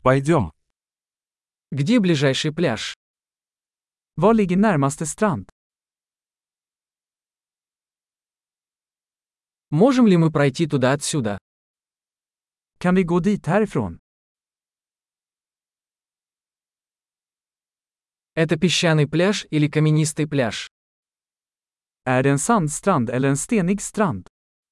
Пойдем. Где ближайший пляж? Var ligger närmaste strand? Можем ли мы пройти туда отсюда? Kan vi gå dit härifrån? Это песчаный пляж или каменистый пляж? Är det en sandstrand eller en stenig strand?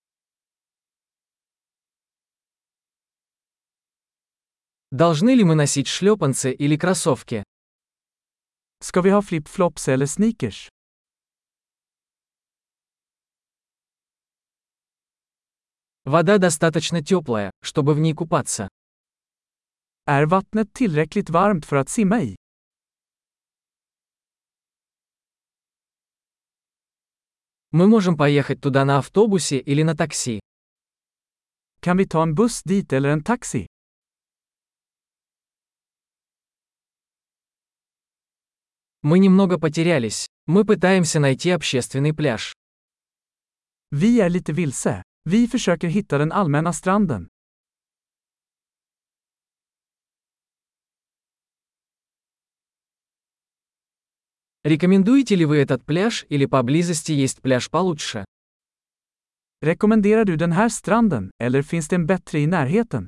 Должны ли мы носить шлепанцы или кроссовки? Ska vi ha flip-flops eller sneakers? Вода достаточно теплая, чтобы в ней купаться. Är vattnet tillräckligt varmt för att simma i? Мы можем поехать туда на автобусе или на такси. Kan vi ta en buss dit eller en taxi? Мы немного потерялись. Мы пытаемся найти общественный пляж. Vi är lite vilse. Vi försöker hitta den allmänna stranden. Рекомендуете ли вы этот пляж или поблизости есть пляж получше? Rekommenderar du den här stranden, eller finns det en bättre i närheten?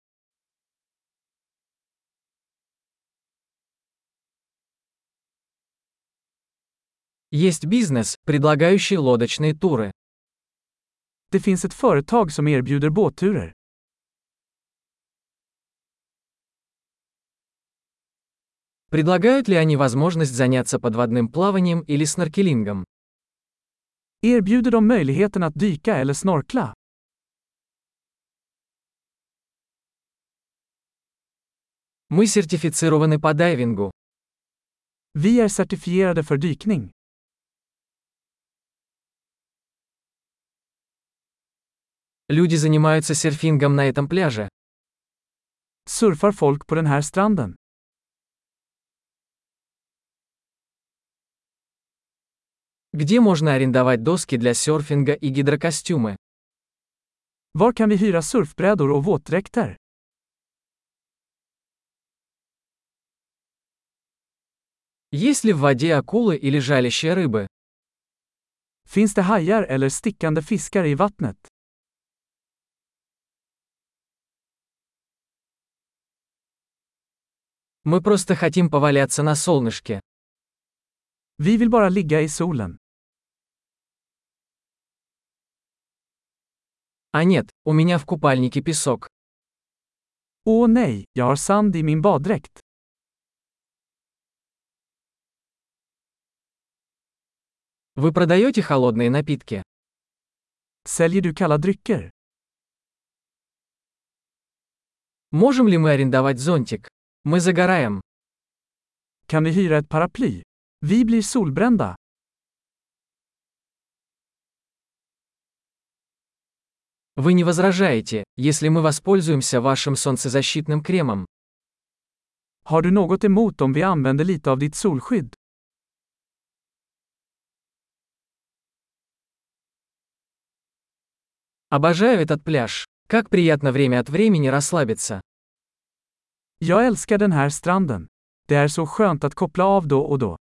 Есть бизнес, предлагающий лодочные туры. Det finns ett företag som erbjuder båtturer. Предлагают ли они возможность заняться подводным плаванием или сноркелингом? Erbjuder de möjligheten att dyka eller snorkla? Мы сертифицированы по дайвингу. Vi är certifierade för dykning. Люди занимаются серфингом на этом пляже. Surfar folk på den här stranden? Где можно арендовать доски для серфинга и гидрокостюмы? Var kan vi hyra surfbrädor och våtdräkter? Есть ли в воде акулы или жалящие рыбы? Finns det hajar eller stickande fiskar i vattnet? Мы просто хотим поваляться на солнышке. Vi vill bara ligga i solen. А нет, у меня в купальнике песок. Åh nej, jag har sand i min baddräkt. Вы продаете холодные напитки? Säljer du kalla drycker? Можем ли мы арендовать зонтик? Мы загораем. Kan vi hyra ett paraply? Vi blir solbrända. Вы не возражаете, если мы воспользуемся вашим солнцезащитным кремом? Har du något emot om vi använder lite av ditt solskydd? Обожаю этот пляж. Как приятно время от времени расслабиться. Jag älskar den här stranden. Det är så skönt att koppla av då och då.